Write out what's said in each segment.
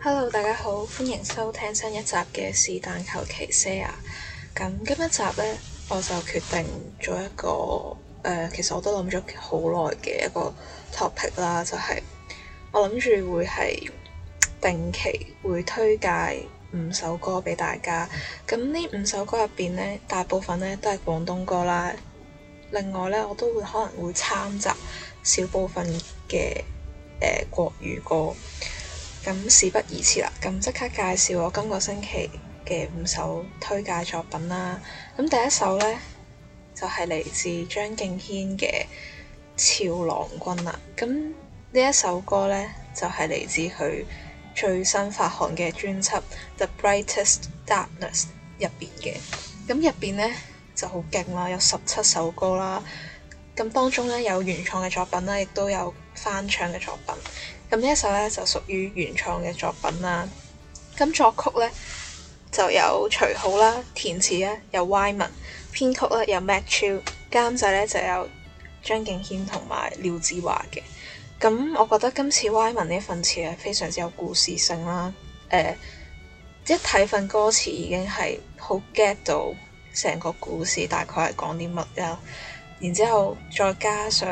Hello，大家好，歡迎收聽新一集嘅是但求其 share。咁今一集呢，我就決定做一個其實我都諗咗好耐嘅一個 topic 啦，就係我諗住會係定期會推介5首歌俾大家。咁呢5首歌入邊呢，大部分呢都係廣東歌啦。另外呢，我都會可能會參雜少部分嘅國語歌。咁事不宜遲啦，咁即刻介紹我今個星期嘅5首推介作品啦。咁第一首呢，就係嚟自張敬軒嘅《俏郎君》啦。咁呢一首歌呢，就係嚟自佢最新發行嘅專輯《The Brightest Darkness》入邊嘅。咁入邊呢，就好勁啦，有17首歌啦。咁當中呢，有原創嘅作品啦，亦都有翻唱嘅作品。咁呢一首咧就屬於原創嘅作品啦。咁作曲咧就有徐浩啦，填詞咧有 Y 文，編曲咧有 Matt Chill， 監製咧就有張敬軒同埋廖子華嘅。咁我覺得今次 Y 文呢份詞係非常之有故事性啦。一睇份歌詞已經係好 get 到成個故事大概係講啲乜啦。然之後再加上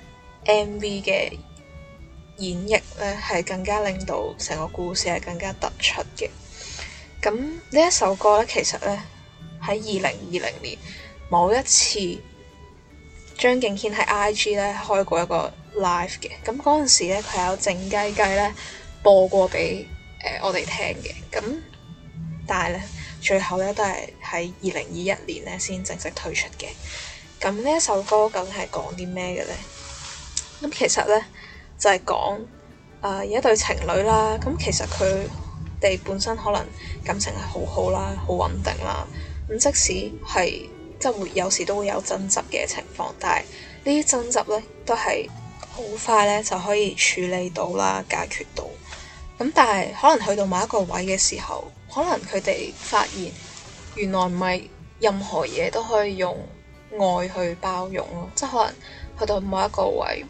MV 嘅演繹咧，係更加令到成個故事係更加突出嘅。咁呢一首歌咧，其實咧喺2020年某一次張敬軒喺 IG 咧開過一個 live 嘅。咁嗰陣時咧，佢有靜雞雞咧播過俾我哋聽嘅。咁但係咧，最後咧都係喺2021年咧先正式推出嘅。咁呢一首歌究竟係講啲咩嘅咧？咁其實咧就係講有一對情侶啦。咁其實佢哋本身可能感情係好好啦，好穩定啦。咁即使係即係會有時都會有爭執嘅情況，但係呢啲爭執咧都係好快咧就可以處理到啦，解決到。咁但係可能去到某一個位嘅時候，可能佢哋發現原來唔係任何嘢都可以用愛去包容咯，即係可能去到某一個位，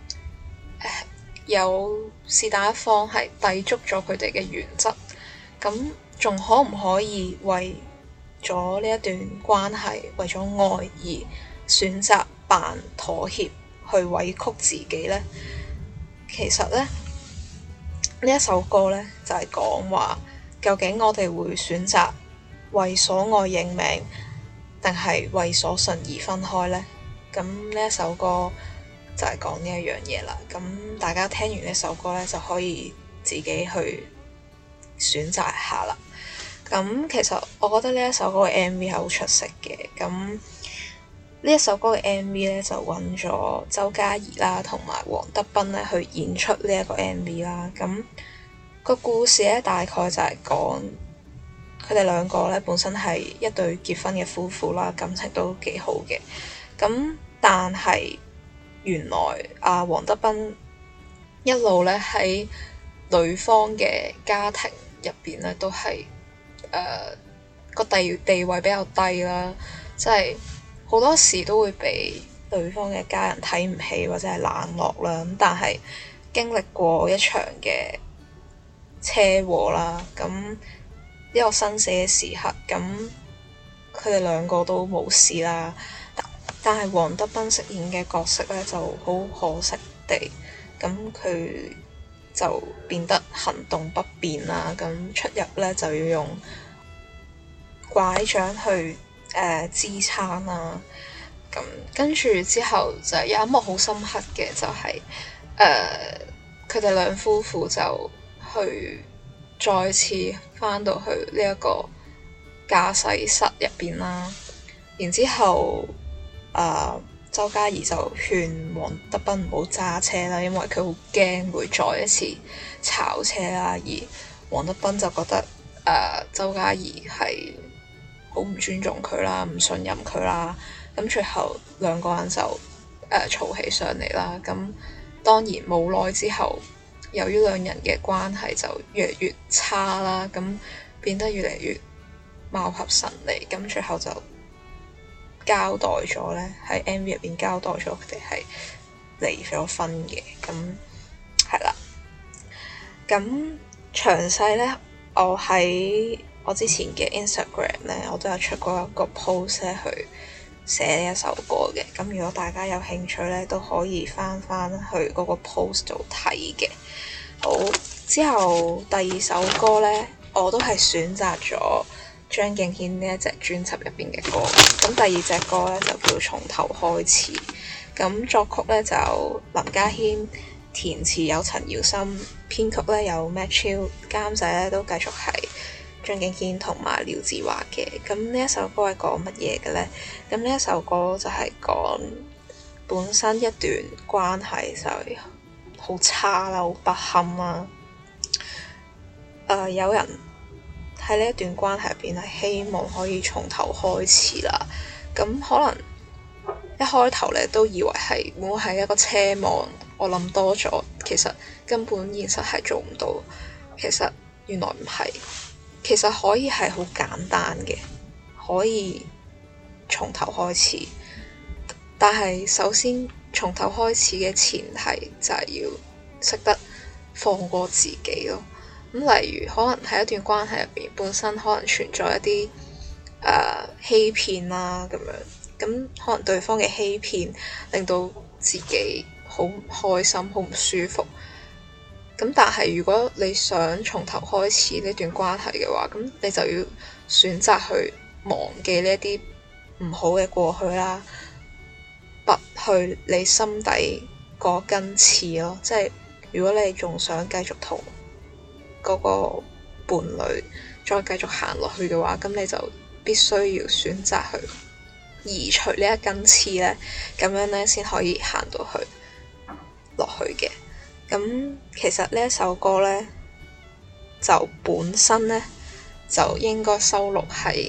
有是但一方係抵觸咗佢哋嘅原則，咁仲可唔可以為咗呢一段關係，為咗愛而選擇扮妥協去委屈自己呢？其實呢，呢一首歌呢，就係講話，究竟我哋會選擇為所愛認命，定係為所信而分開呢？咁呢一首歌就係講呢一樣嘢啦。咁大家聽完呢首歌咧，就可以自己去選擇一下啦。咁其實我覺得呢一首歌嘅 MV 係好出色嘅。咁呢一首歌嘅 MV 咧就揾咗周嘉怡啦，同埋黃德斌咧去演出呢一個 MV 啦。咁個故事咧大概就係講佢哋兩個咧本身係一對結婚嘅夫婦啦，感情都幾好嘅。咁但係原來黃德斌一路咧喺女方嘅家庭入邊咧都係個地位比較低啦，即係好多時都會被對方嘅家人睇唔起或者係冷落啦。咁但係經歷過一場嘅車禍啦，咁呢個生死嘅時刻，咁佢哋兩個都冇事啦。但係黃德斌飾演嘅角色咧就好可惜地，咁佢就變得行動不便啦。咁出入咧就要用拐杖去支撐啦。咁跟住之後就有一幕好深刻嘅，就係佢哋兩夫婦就去再次返到去呢一個駕駛室入邊啦。然之後周嘉怡就勸黃德斌唔好揸車啦，因為佢好驚會再一次炒車啦。而黃德斌就覺得周嘉怡係好唔尊重佢啦，唔信任佢啦。咁最後兩個人就嘈起上嚟啦。咁當然冇耐之後，由於兩人嘅關係就越嚟越差啦，咁變得越嚟越貌合神離。咁最後就交代咗咧，喺 MV 入邊交代咗佢哋係離咗婚嘅。咁係啦。咁詳細呢，我喺我之前嘅 Instagram 呢，我都有出過一個 post 咧去寫呢一首歌嘅。咁如果大家有興趣呢，都可以翻去嗰個 post 度睇嘅。好，之後第二首歌呢，我都係選擇咗張敬軒呢一隻專輯入邊嘅歌。咁第二隻歌呢，就叫從頭開始。咁作曲呢，就林家謙，填詞有陳堯森，編曲呢有 Matt Chill， 監製呢都繼續係張敬軒同埋廖智華嘅。咁呢一首歌係講乜嘢嘅呢？咁呢一首歌就係講本身一段關係就係好差啦，好不堪啦。有人喺呢一段關係入邊係希望可以從頭開始啦。咁可能一開頭咧都以為係會唔會係一個奢望，我諗多咗，其實根本現實係做唔到。其實原來唔係，其實可以係好簡單嘅，可以從頭開始。但係首先從頭開始嘅前提就係要識得放過自己咯。咁例如可能喺一段關係入邊，本身可能存在一啲欺騙啦咁樣，咁可能對方嘅欺騙令到自己好唔開心、好唔舒服。咁但係如果你想從頭開始呢段關係嘅話，咁你就要選擇去忘記呢一啲唔好嘅過去啦，拔去你心底嗰根刺咯。即係如果你仲想繼續同嗰個伴侶再繼續行落去嘅話，咁你就必須要選擇去移除呢一根刺咧，咁樣咧先可以行到去落去嘅。咁其實呢一首歌咧，就本身咧就應該收錄喺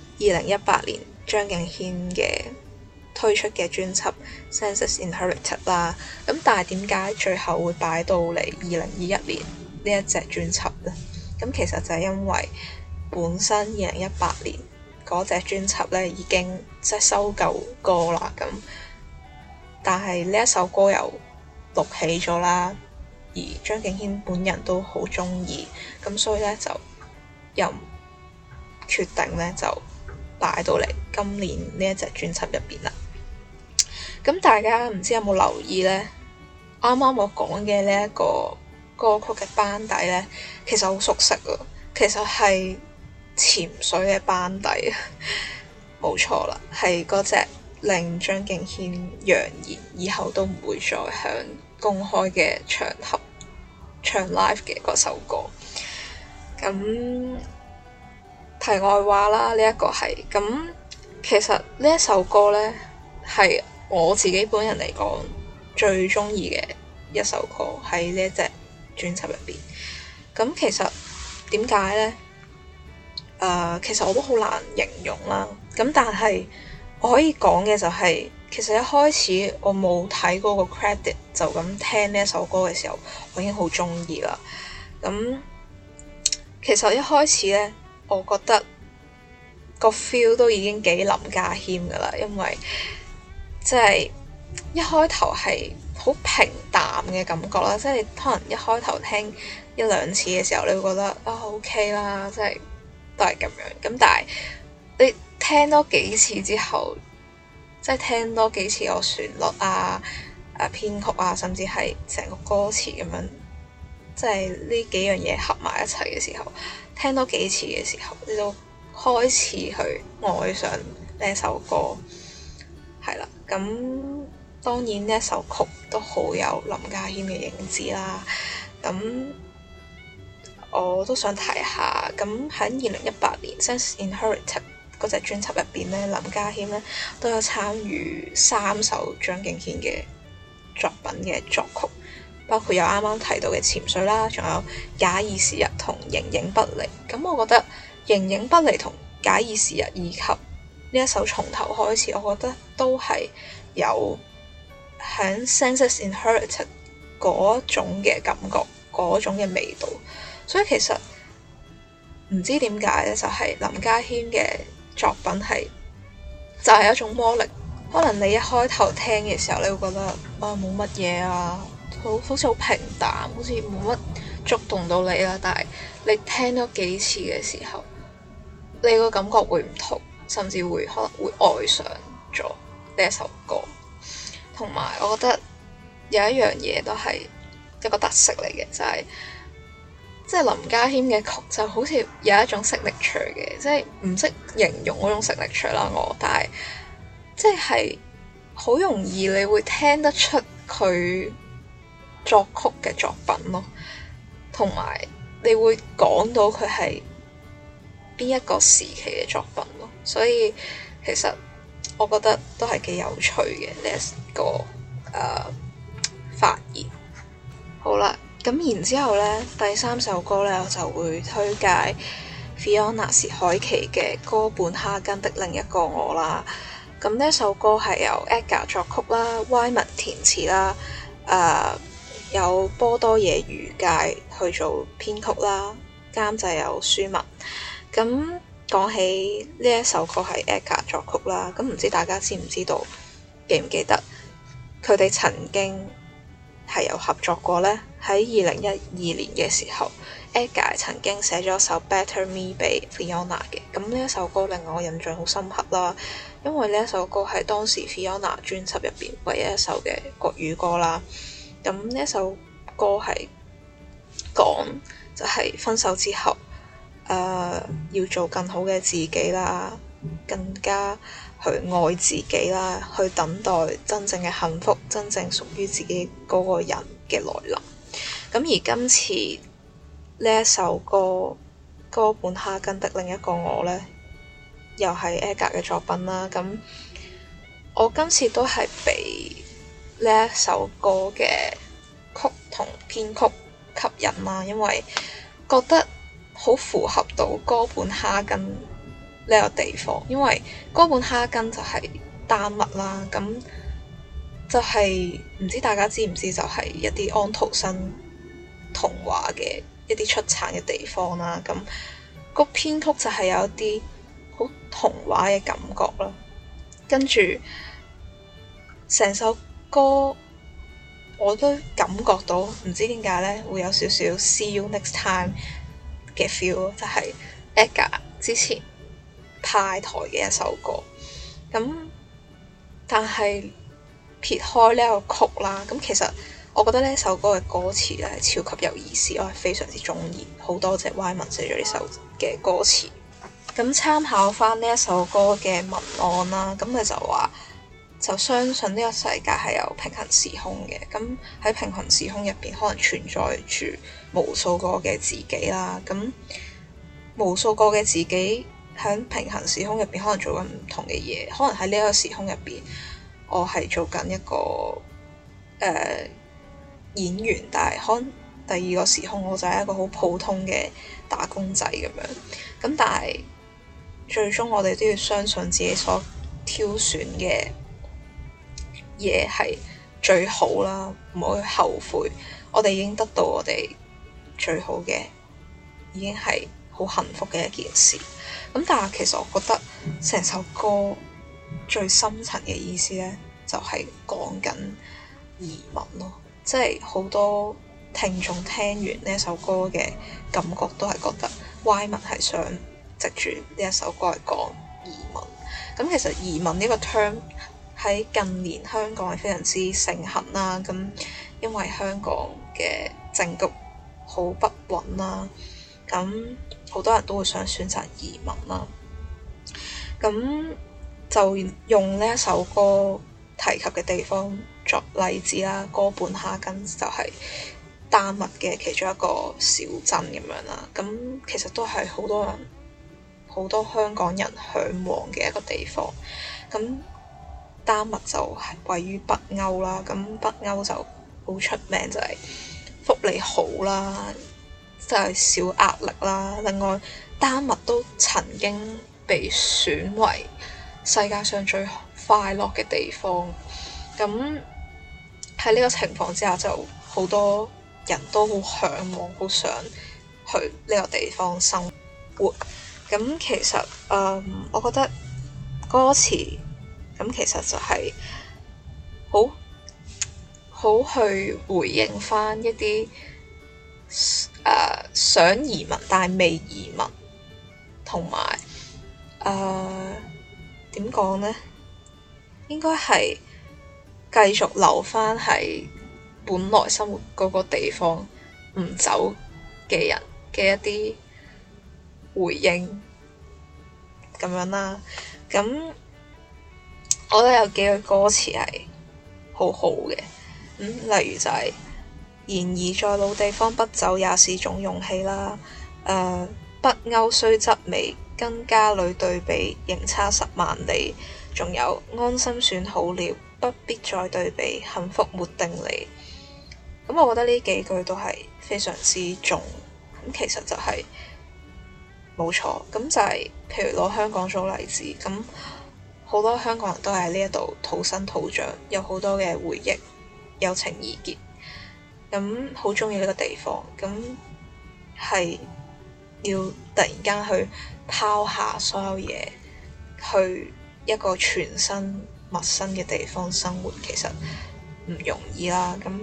2018年張敬軒嘅推出嘅專輯《Senses Inherited》啦。咁但係點解最後會擺到嚟2021年呢一隻專輯咧？咁其實就係因為本身2018年嗰隻專輯咧已經即係收舊歌啦，咁但係呢一首歌又錄起咗啦，而張敬軒本人都好鍾意，咁所以咧就又決定咧就擺到嚟今年呢一隻專輯入邊啦。咁大家唔知有冇留意咧？啱啱我講嘅呢一個歌曲嘅班底咧，其實好熟悉啊！其實係潛水嘅班底，冇錯啦，係嗰隻令張敬軒揚言以後都唔會再向公開嘅場合唱 live 嘅嗰首歌。咁題外話啦，呢一個係咁，其實呢一首歌呢，係我自己本人嚟講最鍾意嘅一首歌喺呢一隻專輯入邊。咁其實點解呢？其實我都好難形容啦。咁但係我可以講嘅就係，其實一開始我冇睇嗰個 credit， 就咁聽呢一首歌嘅時候，我已經好鍾意啦。咁其實一開始呢，我覺得個 feel 都已經幾林家謙噶啦，因為即係一開頭係好平淡嘅感覺啦，即係可能一開頭聽一兩次嘅時候，你會覺得OK 啦，即係都係咁樣。咁但係你聽多幾次之後，即係聽多幾次個旋律啊、編曲啊，甚至係成個歌詞咁樣，即係呢幾樣嘢合埋一齊嘅時候，聽多幾次嘅時候，你就開始去愛上呢一首歌，係啦。咁當然呢一首曲都好有林家謙嘅影子啦。咁我都想提下，咁喺2018年《Senses Inherited》嗰隻專輯入邊咧，林家謙咧都有參與3首張敬軒嘅作品嘅作曲，包括有啱啱提到嘅潛水啦，仲有假以時日同形影不離。咁我覺得形影不離同假以時日以及呢一首從頭開始，我覺得都係有喺 Senses Inherited 嗰種嘅感覺，嗰種嘅味道。所以其實唔知點解咧，就係林家謙嘅作品係就係一種魔力。可能你一開頭聽嘅時候，你會覺得冇乜嘢啊，好似好平淡，好似冇乜觸動到你啦，但係你聽咗幾次嘅時候，你個感覺會唔同，甚至會可能會愛上咗呢一首歌。同埋我覺得有一樣嘢都係一個特色嚟嘅，就係即係林家謙嘅曲就好似有一種signature嘅，即係唔識形容嗰種signature啦但係即係好容易你會聽得出佢作曲嘅作品咯，同埋你會講到佢係邊一個時期嘅作品咯，所以其實我覺得都係幾有趣嘅呢一個發現。好啦，咁然之後呢，第三首歌呢，我就會推介 Fiona 薛凱琪嘅《哥本哈根的另一個我》啦。咁呢首歌係由 Edgar 作曲啦，Wyman 填詞啦，有波多野裕介去做編曲啦，監製有舒文。咁講起呢一首歌係 Edgar 作曲啦，咁唔知大家知唔知道，記唔記得佢哋曾經係有合作過呢？喺2012年嘅時候 Edgar 曾經寫咗首 Better Me 俾 Fiona 嘅。咁呢一首歌令我印象好深刻啦，因為呢一首歌係當時 Fiona 專輯入邊唯一一首嘅國語歌啦。咁呢一首歌係講就係分手之後要做更好嘅自己啦，更加去愛自己啦，去等待真正嘅幸福，真正屬於自己嗰個人嘅來臨。咁而今次呢一首歌哥本哈根的另一個我呢，又係 Edgar 嘅作品啦。咁我今次都係被呢一首歌嘅曲同編曲吸引啦，因為覺得好符合到哥本哈根呢個地方，因為哥本哈根就係丹麥啦，咁就係唔知大家知唔知，就係一啲安徒生童話嘅一啲出產嘅地方啦。咁個編曲就係有一啲好童話嘅感覺啦，跟住成首歌我都感覺到唔知點解呢會有少少 See you next time 嘅 feel， 就係 Edgar 之前派台嘅一首歌。咁但係撇開呢個曲啦，咁其實我覺得呢首歌嘅歌詞咧係超級有意思，我係非常之中意，好多謝 Wyman 寫咗呢首嘅歌詞。咁參考翻呢一首歌嘅文案啦，咁佢就話就相信呢個世界係有平行時空嘅，咁喺平行時空入邊可能存在住無數個嘅自己啦，咁無數個嘅自己喺平行時空入邊可能做緊唔同嘅嘢，可能喺呢一個時空入邊我係做緊一個演員，但係可能第二個時空我就係一個好普通嘅打工仔咁樣。咁但係最終我哋都要相信自己所挑選嘅嘢係最好啦，唔好去後悔。我哋已經得到我哋最好嘅，已經係好幸福嘅一件事。咁但係其實我覺得成首歌最深層嘅意思呢，就係講緊移民咯。即係好多聽眾聽完呢一首歌嘅感覺都係覺得 Wyman 係想藉住呢一首歌嚟講移民。咁其實移民呢個 term 喺近年香港係非常之盛行啦。咁因為香港嘅政局好不穩啦，咁好多人都會想選擇移民啦。咁就用呢一首歌提及嘅地方作例子啦，哥本哈根就係丹麥嘅其中一個小鎮咁樣啦。咁其實都係好多香港人嚮往嘅一個地方。咁丹麥就係位於北歐啦，咁北歐就好出名就係福利好啦，就係少壓力啦。另外丹麥都曾經被選為世界上最快樂嘅地方。咁喺呢個情況之下，就好多人都好嚮往，好想去呢個地方生活。咁其實我覺得歌詞咁其實就係好去回應返一啲想移民但係未移民，同埋點講呢？應該係繼續留返喺本來生活嗰個地方唔走嘅人嘅一啲回應咁樣啦。咁我覺得有幾句歌詞係好好嘅，例如就係、然而在老地方不走也是種勇氣啦。北歐雖則美，跟家裏對比仍差10萬里。仲有安心算好了，不必再對比，幸福沒定理。咁我覺得呢幾句都係非常之重。咁其實就係冇錯，咁就係譬如攞香港做例子，咁好多香港人都喺呢一度土生土長，有好多嘅回憶，有情意結，咁好鍾意呢個地方，咁係要突然間去拋下所有嘢，去一個全新陌生嘅地方生活，其實唔容易啦。咁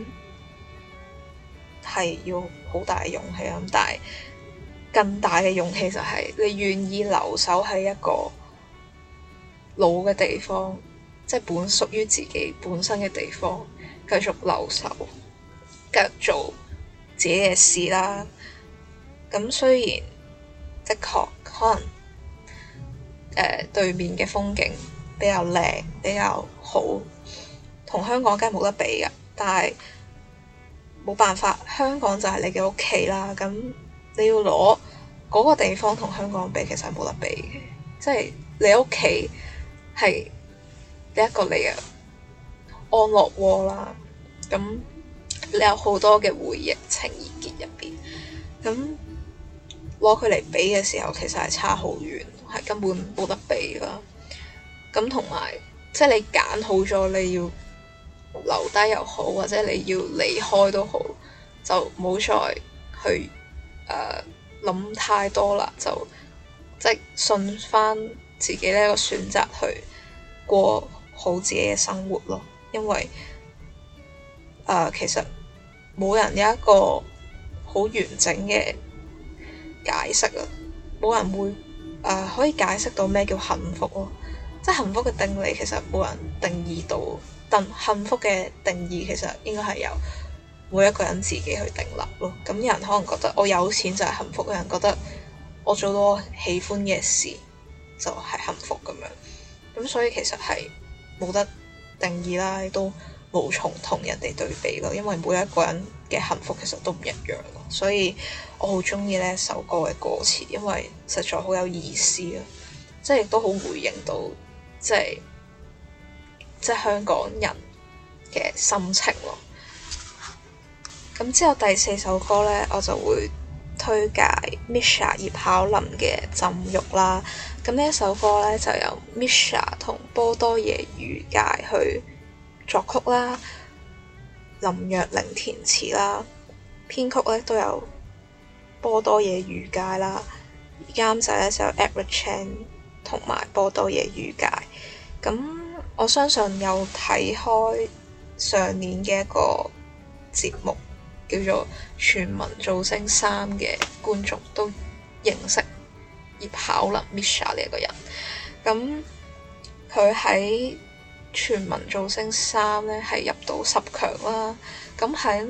係要好大嘅勇氣啦。但係更大嘅勇氣就係你願意留守喺一個老嘅地方，即係本屬於自己本身嘅地方，繼續留守，繼續做自己嘅事啦。咁雖然的確可能對面嘅風景比較靚，比較好，同香港梗係冇得比㗎。但係冇辦法，香港就係你嘅屋企啦。咁你要攞嗰個地方同香港比，其實係冇得比嘅。即係你屋企係一個你嘅安樂窩啦。咁你有好多嘅回憶、情意結入邊。咁攞佢嚟比嘅時候，其實係差好遠，係根本冇得比啦。咁同埋，即係你揀好咗，你要留低又好，或者你要離開都好，就冇再去諗太多啦，就即係信翻自己呢個選擇去過好自己嘅生活咯。因為其實冇人有一個好完整嘅解釋啊，冇人會可以解釋到咩叫幸福咯。即係幸福嘅定理其實冇人定義到，但幸福嘅定義其實應該係由每一個人自己去定立咯。咁有人可能覺得我有錢就係幸福，有人覺得我做到我喜歡嘅事就係幸福咁樣。咁所以其實係冇得定義啦，亦都無從同人哋對比咯。因為每一個人嘅幸福其實都唔一樣咯。所以我好鍾意呢首歌嘅歌詞，因為實在好有意思啊！即係亦都好回應到即係香港人嘅心情咯。咁之後第4首歌呢，我就會推介 Misha 葉巧琳嘅《浸浴》啦。咁呢一首歌呢，就由 Misha 同波多野裕介去作曲啦，林若寧填詞啦，編曲呢都有波多野裕介啦，監製呢就有 Eric Chan 同埋波多野裕介。咁我相信有睇開上年嘅一個節目叫做《全民造星3》嘅觀眾都認識葉巧琳 Misha 呢一個人。咁佢喺《全民造星3》呢係入到10強啦。咁喺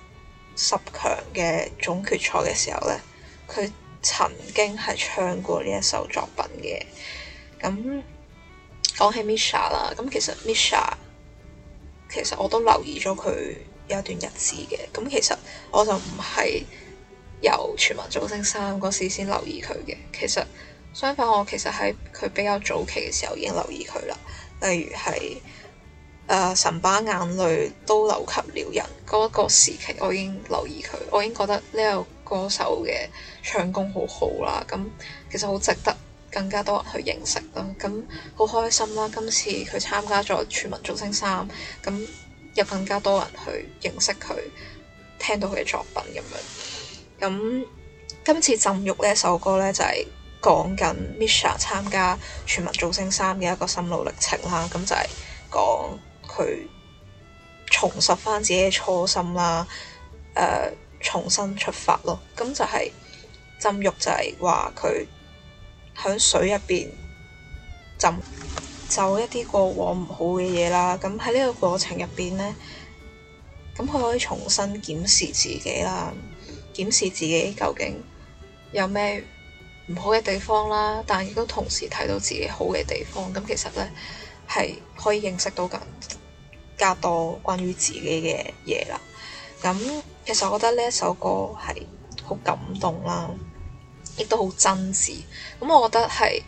10強嘅總決賽嘅時候呢，佢曾經係唱過呢一首作品嘅。咁講起 Misha 啦，咁其實 Misha 其實我都留意咗佢有一段日子嘅。咁其實我就唔係由全民造星3嗰時先留意佢嘅。其實相反，我其實喺佢比較早期嘅時候已經留意佢啦。例如係神把眼淚都流給了人嗰個時期，我已經留意佢，我已經覺得呢個歌手嘅唱功好好啦。咁其實好值得更加多人去認識啦。咁好開心啦！今次佢參加咗全民造星3，咁有更加多人去認識佢，聽到佢嘅作品咁樣。咁今次浸浴呢一首歌呢，就係講緊 Misha 參加全民造星3嘅一個心路歷程啦。咁就係講佢重拾翻自己嘅初心啦。 重新出發咯。咁就係浸浴就係話佢喺水入邊浸就一啲過往唔好嘅嘢啦。咁喺呢個過程入邊呢，咁佢可以重新檢視自己啦，檢視自己究竟有咩唔好嘅地方啦，但亦都同時睇到自己好嘅地方。咁其實呢，係可以認識到更加多關於自己嘅嘢啦。咁其實我覺得呢一首歌係好感動啦，亦都好真摯。咁我覺得係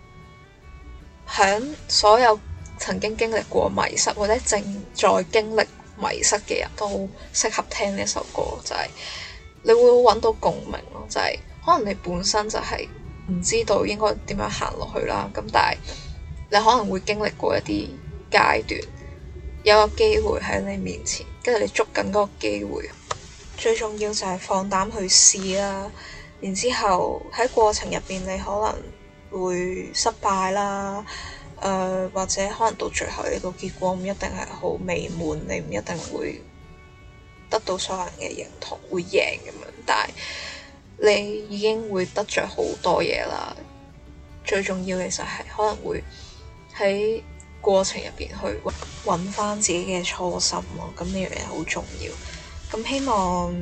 響所有曾經經歷過迷失或者正在經歷迷失嘅人都好適合聽呢一首歌，就係你會揾到共鳴咯。就係可能你本身就係唔知道應該點樣行落去啦，咁但係你可能會經歷過一啲階段，有個機會喺你面前，跟住你捉緊嗰個機會。最重要就係放膽去試啦，然之後喺過程入邊你可能會失敗啦，或者可能到最後呢個結果唔一定係好美滿，你唔一定會得到所有人嘅認同，會贏咁樣，但係你已經會得着好多嘢啦。最重要嘅就係可能會喺過程入邊去揾翻自己嘅初心咯，咁呢樣嘢好重要。咁希望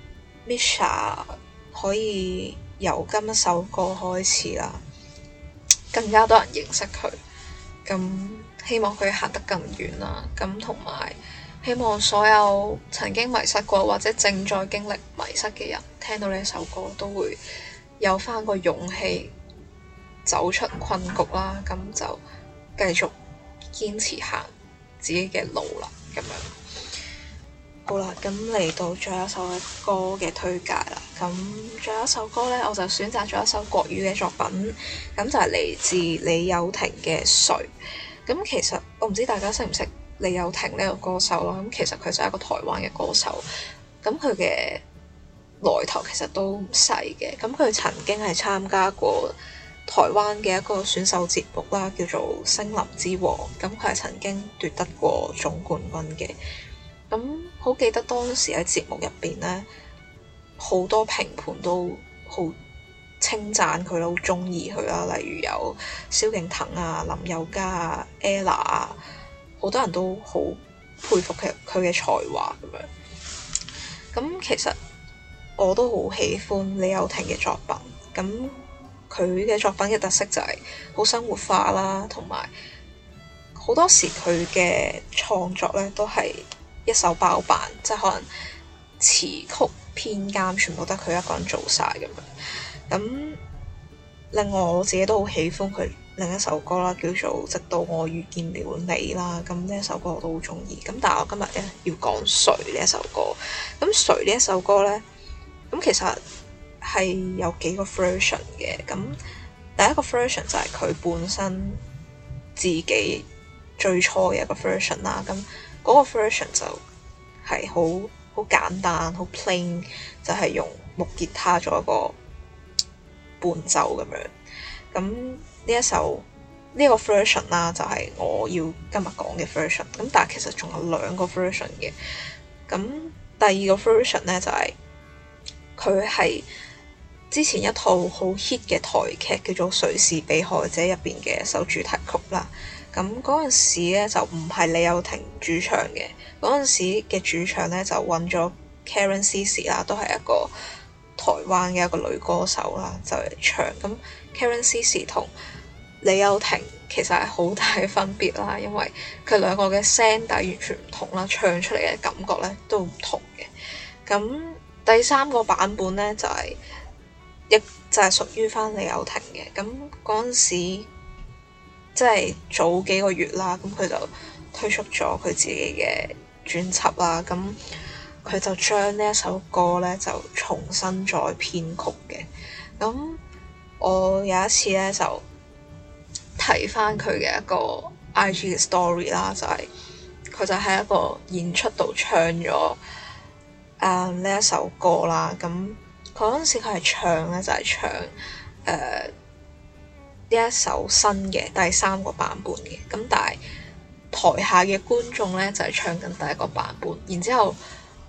Misha 可以由今一首歌開始啦，更加多人認識佢。咁希望佢行得更遠啦。咁同埋希望所有曾經迷失過或者正在經歷迷失嘅人，聽到呢首歌都會有翻個勇氣走出困局啦。咁就繼續堅持行自己嘅路啦，咁樣好啦。咁嚟到最後一首歌嘅推介啦。咁最後一首歌呢，我就選擇咗一首國語嘅作品，咁就係嚟自李友廷嘅《誰》。咁其實我唔知大家識唔識李友廷呢個歌手啦。咁其實佢就係一個台灣嘅歌手，咁佢嘅來頭其實都唔細嘅。咁佢曾經係參加過台灣嘅一個選秀節目啦，叫做《聲林之王》。咁佢係曾經奪得過總冠軍嘅。咁好記得當時喺節目入邊呢，好多評判都好稱讚佢啦，好中意佢啦。例如有蕭敬騰啊、林宥嘉啊、Ella 啊，好多人都好佩服佢嘅才華咁樣。咁其實我都好喜歡李友廷嘅作品。咁佢嘅作品嘅特色就係好生活化啦，同埋好多時佢嘅創作咧都係一手包辦，即係可能詞曲編監全部得佢一個人做晒咁樣。咁另外我自己都好喜歡佢另一首歌啦，叫做《直到我遇見了你》啦。咁呢一首歌我都好中意。咁但係我今日咧要講《誰》呢一首歌。咁《誰》呢一首歌咧，咁其實係有幾個 version 嘅。咁第一個 version 就係佢本身自己最初嘅一個 version 啦。咁嗰個 version 就係好簡單，好 plain， 就係用木吉他做一個伴奏咁樣。咁呢一首呢個 version 啦，就係我要今日講嘅 version。咁但係其實仲有兩個 version 嘅。咁第二個 version 咧就係佢係之前一套好 hit 嘅台劇叫做《誰是被害者》入邊嘅一首主題曲啦。咁嗰陣時咧就唔係李友廷主唱嘅，嗰陣時嘅主唱咧就揾咗 Karen Cici 啦，都係一個台灣嘅一個女歌手啦，就嚟唱。咁 Karen Cici 同李友廷其實係好大嘅分別啦，因為佢兩個嘅聲底完全唔同啦，唱出嚟嘅感覺咧都唔同嘅。咁第三個版本咧就係屬於翻李友廷嘅。咁嗰陣時即係早幾個月啦，咁佢就推出咗佢自己嘅專輯啦。咁佢就將呢一首歌咧就重新再編曲嘅。咁我有一次咧就睇翻佢嘅一個 IG 嘅 story 啦，就係佢就喺一個演出度唱咗呢一首歌啦。咁嗰陣時佢係唱咧就係唱呢一首新嘅第三個版本嘅。咁但係台下嘅觀眾咧就係唱緊第一個版本，然之後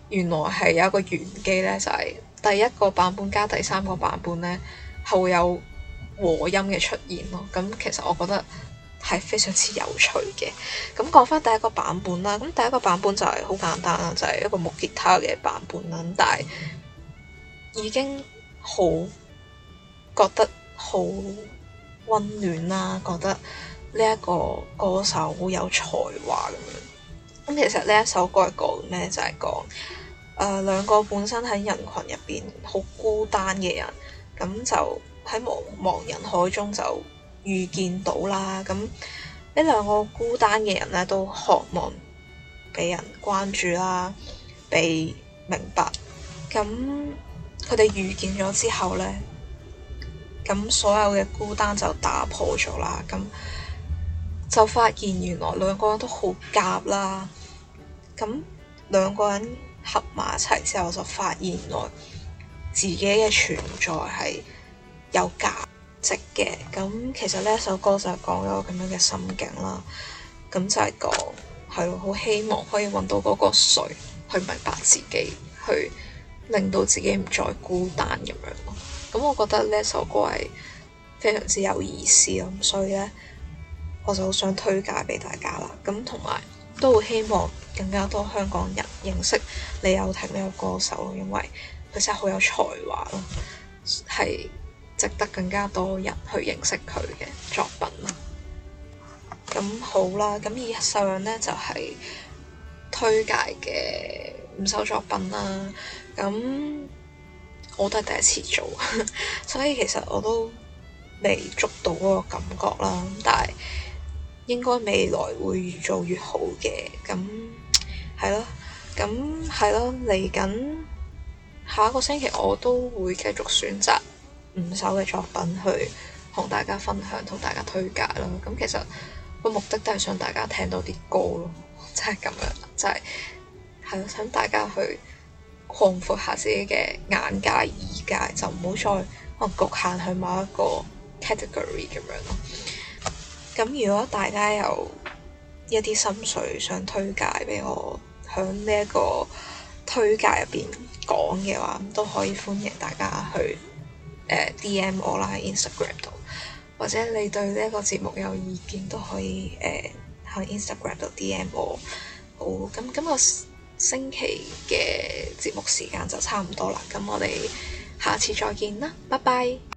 原來係有一個玄機咧，就係第一個版本加第三個版本咧係會有和音嘅出現咯。咁其實我覺得係非常之有趣嘅。咁講翻第一個版本啦，咁第一個版本就係好簡單啦，就係一個木吉他嘅版本啦。但係已經好覺得好溫暖啦，覺得呢一個歌手好有才華咁樣。咁其實呢一首歌係講咩？就係講兩個本身喺人群入邊好孤單嘅人，咁就喺茫茫人海中就遇見到啦。咁呢兩個孤單嘅人咧，都渴望被人關注啦，被明白。咁佢哋遇見咗之後咧，咁所有嘅孤單就打破咗啦。咁就發現原來兩個人都好夾啦。咁兩個人合埋一齊之後，就發現原來自己嘅存在係有價值嘅。咁其實呢一首歌就係講咗咁樣嘅心境啦。咁就係講係咯，好希望可以揾到嗰個誰去明白自己，去令到自己唔再孤單咁樣咯。咁我覺得呢一首歌係非常之有意思咯。咁所以咧，我就好想推介俾大家啦。咁同埋都好希望更加多香港人認識李友廷呢個歌手咯，因為佢真係好有才華咯，係值得更加多人去認識佢嘅作品咯。咁好啦，咁以上呢就係推介嘅5首作品啦。咁我都係第一次做，所以其實我都未捉到嗰個感覺啦。但係應該未來會越做越好嘅。咁係咯，咁係咯，嚟緊下一個星期我都會繼續選擇5首嘅作品去同大家分享，同大家推介啦。咁其實個目的都係想大家聽到啲歌咯，即係咁樣，即係係咯，想大家去擴闊下自己嘅眼界、耳界，就唔好再可能局限去某一個 category 咁樣咯。咁如果大家有一啲心水想推介俾我，響呢一個推介入邊講嘅話，都可以歡迎大家去DM 我啦，喺 Instagram 度，或者你對呢一個節目有意見都可以喺 Instagram 度 DM 我。好，咁今個星期嘅節目時間就差唔多啦，咁我哋下次再見啦，拜拜。